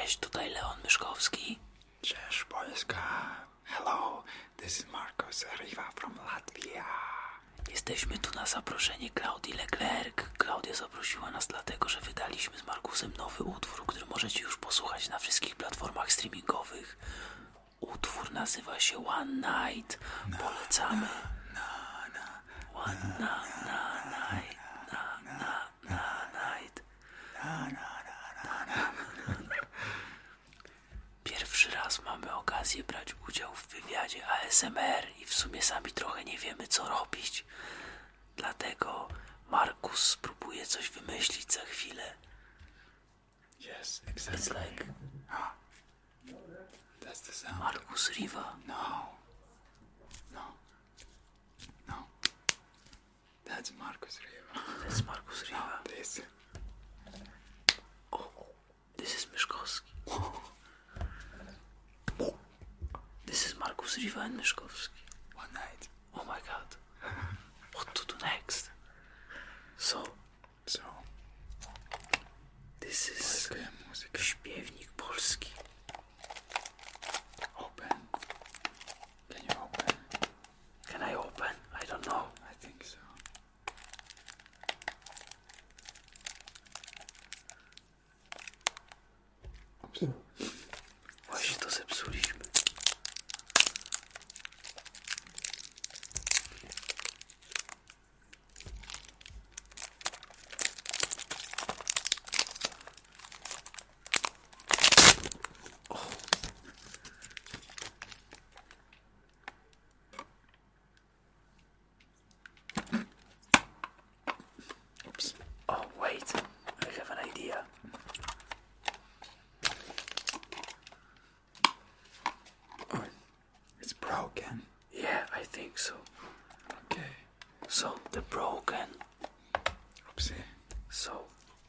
Cześć, tutaj Leon Myszkowski. Cześć Polska. Hello, this is Marcos Riva from Latvia. Jesteśmy tu na zaproszenie Klaudii Leclerc. Klaudia zaprosiła nas dlatego, że wydaliśmy z Markusem nowy utwór, który możecie już posłuchać na wszystkich platformach streamingowych. Utwór nazywa się One Night. Polecamy. One night. Pierwszy raz mamy okazję brać udział w wywiadzie ASMR i w sumie sami trochę nie wiemy, co robić. Dlatego Markus spróbuje coś wymyślić za chwilę. Yes, exactly. It's like That's the sound. Markus Riva. No. That's Marcos Riva. That's Markus Riva. This. Oh, this is Myszkowski. This is Markus Riva and Myszkowski. One night. Oh my god. What to do next? So, this is Polska muzyka. śpiewnik polski. Open. Can you open? Can I open? I don't know. I think so. Właśnie to zepsuliśmy. Oops. Oh, wait. I have an idea. Oh, it's broken. Yeah, I think so. Okay. So, the broken. Oopsie. So,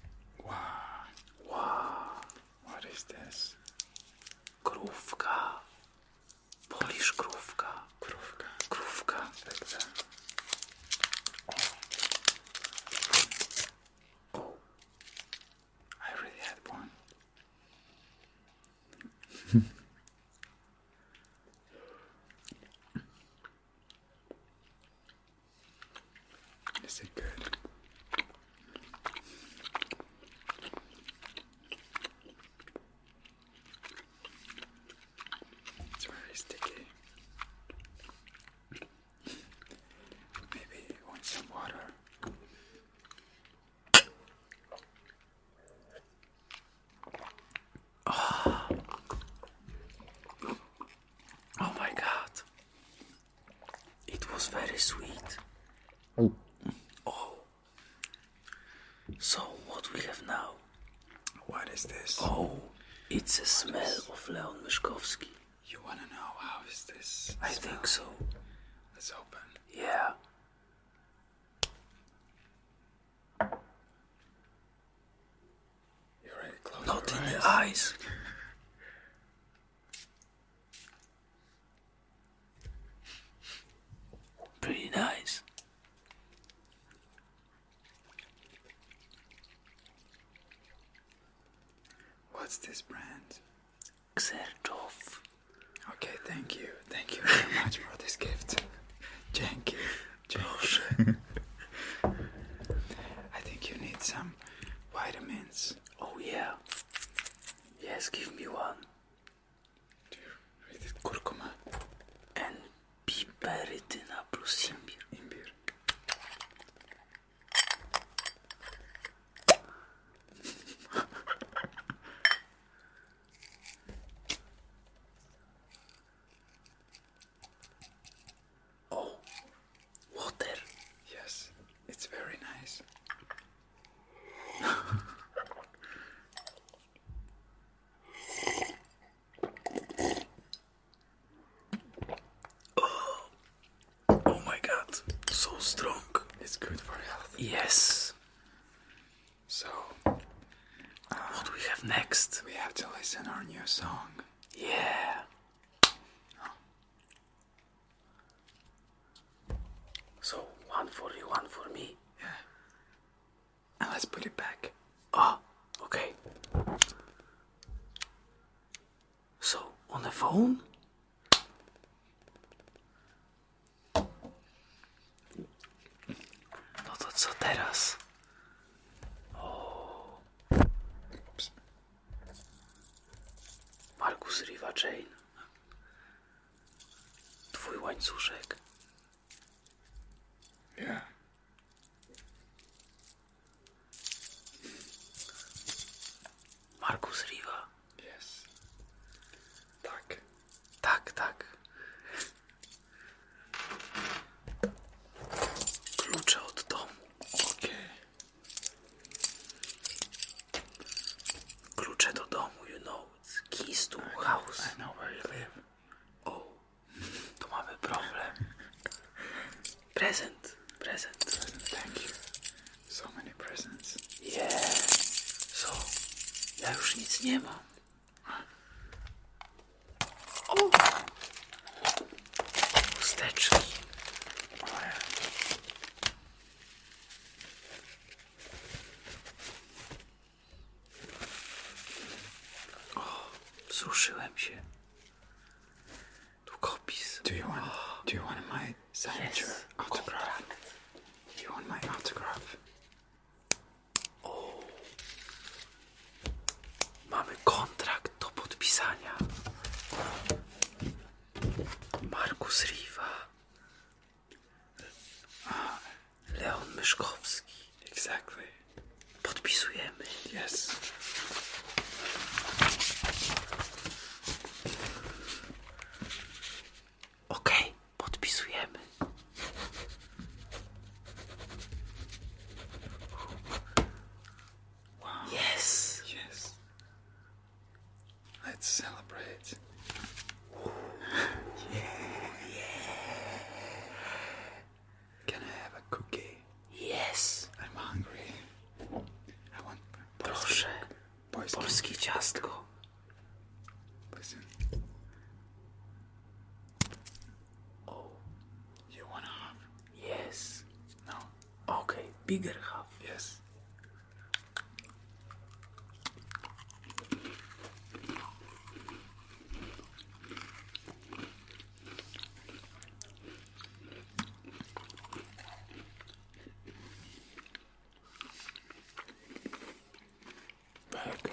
Wow. What is this? krówka. Polish krówka. Krówka. Krówka. Like that. Oh, I already had one. Is it good? It's very sticky. Maybe you want some water. oh my god. It was very sweet. Oh. So, what we have now? What is this? Oh, it's a smell of Leon Myszkowski. You wanna know how is this? I smell? think so. Let's open. Yeah. You already closed Not your in eyes. the eyes. Pretty nice. What's this brand? Xerjoff. Okay, thank you. Thank you very much for this gift. Thank you. Proszę. I think you need some vitamins. Oh yeah. Yes, give me one. Do you read it? Kurkuma. And piperytyna plus imbir. Imbir. Oh, water. Yes, it's very nice. Oh my god, so strong. It's good for health. Yes. So, What do we have next? we have to listen our new song. Yeah. So, one for you, one for me. Yeah. And let's put it back. Ah, okay. Leon? No to co teraz? Oops. Marcus Riva Chain. Twój łańcuszek. Yeah. Marcus Riva. Yes. Tak. Tak, tak. Klucze od domu. Okay. Klucze do domu, you know. Keys to house. I know where you live. O, tu mamy problem. Prezent. Thank you. So many presents. Yeah. So, ja już nic nie mam. O! Chusteczki. Oh yeah. Wzruszyłem się. Długopis. Do you want my signature autograph? Do you want my autograph? Mamy kontrakt do podpisania. Marcus Riva. Leon Myszkowski. Exactly. Podpisujemy. Yes. Okej, podpisujemy. Wow. Yes. Yes. Let's celebrate. Can I have a cookie? Yes. I'm hungry. I want Proszę. boys. Polskie ciastko. Listen. You wanna have? Yes. No. Okej, bigger half. Yes. Very good.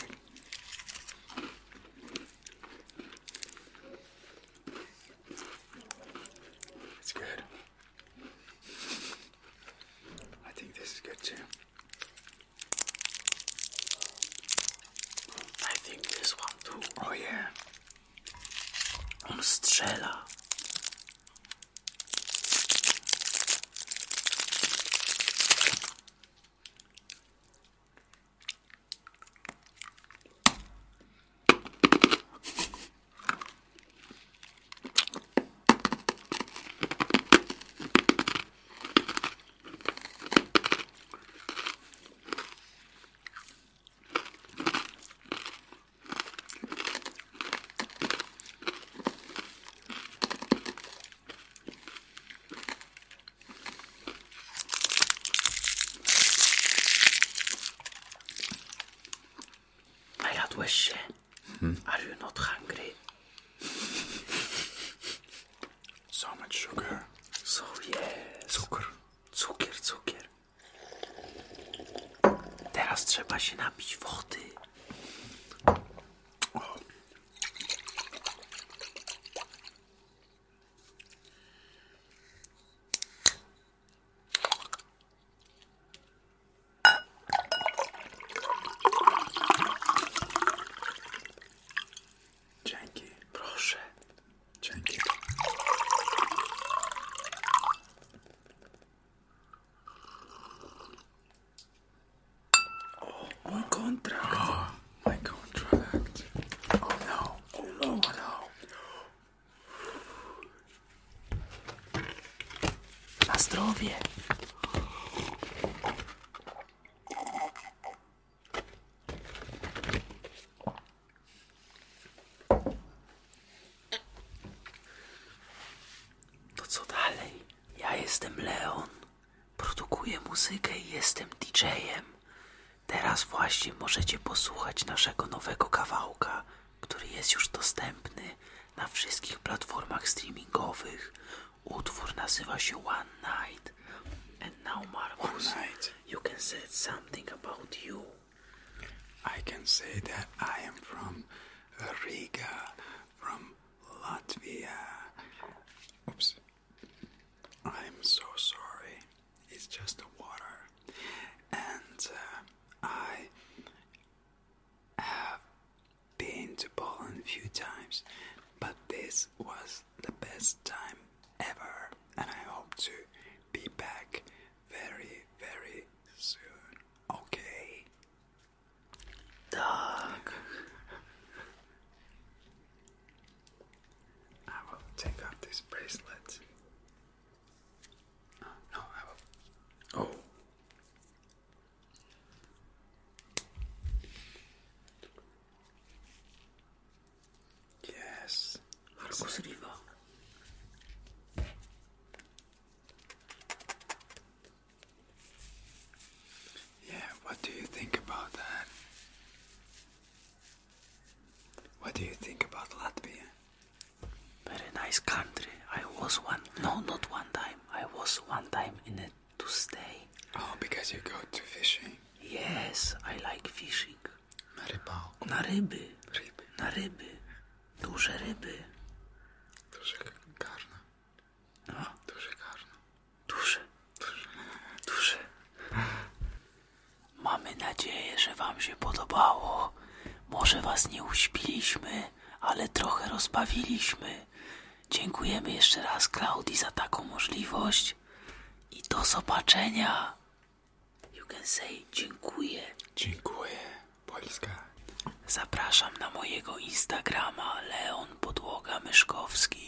It's good. I think this is good too. I think this one too. Oh yeah. On strzela. Najadłeś się? Are you not hungry? So much sugar. So yes. Cukier. Teraz trzeba się napić wody. Dzięki. Proszę. Dzięki. Mój kontrakt. My contract. Oh no. Na zdrowie. To co dalej? Ja jestem Leon. Produkuję muzykę i jestem DJ-em. Teraz właśnie możecie posłuchać naszego nowego kawałka, który jest już dostępny na wszystkich platformach streamingowych. Utwór nazywa się One Night. And now, Marcus, One night. you can say something about you. I can say that I am from Riga, from Latvia. Oops. I'm so sorry. It's just the water. And I have been to Poland a few times, but this was the best time ever. And I hope to be back very, very soon. Okay? Tak. I will take off this bracelet. No, I will. Oh. Yes. Marcus Riva. Yeah, what do you think about that? What do you think about Latvia? Very nice country. I was not one time. I was one time in it to stay. Oh, because you go to fishing. Yes, I like fishing. Na rybałku. Na ryby. Ryby. Na ryby. Duże ryby. Duże garno. No, Duże garno. duże. Duże. Mamy nadzieję, że wam się podobało. Może was nie uśpiliśmy, ale trochę rozbawiliśmy. Dziękujemy jeszcze raz Klaudii za taką możliwość. I do zobaczenia. You can say dziękuję. Dziękuję. Polska. Zapraszam na mojego Instagrama Leon Podłoga Myszkowski.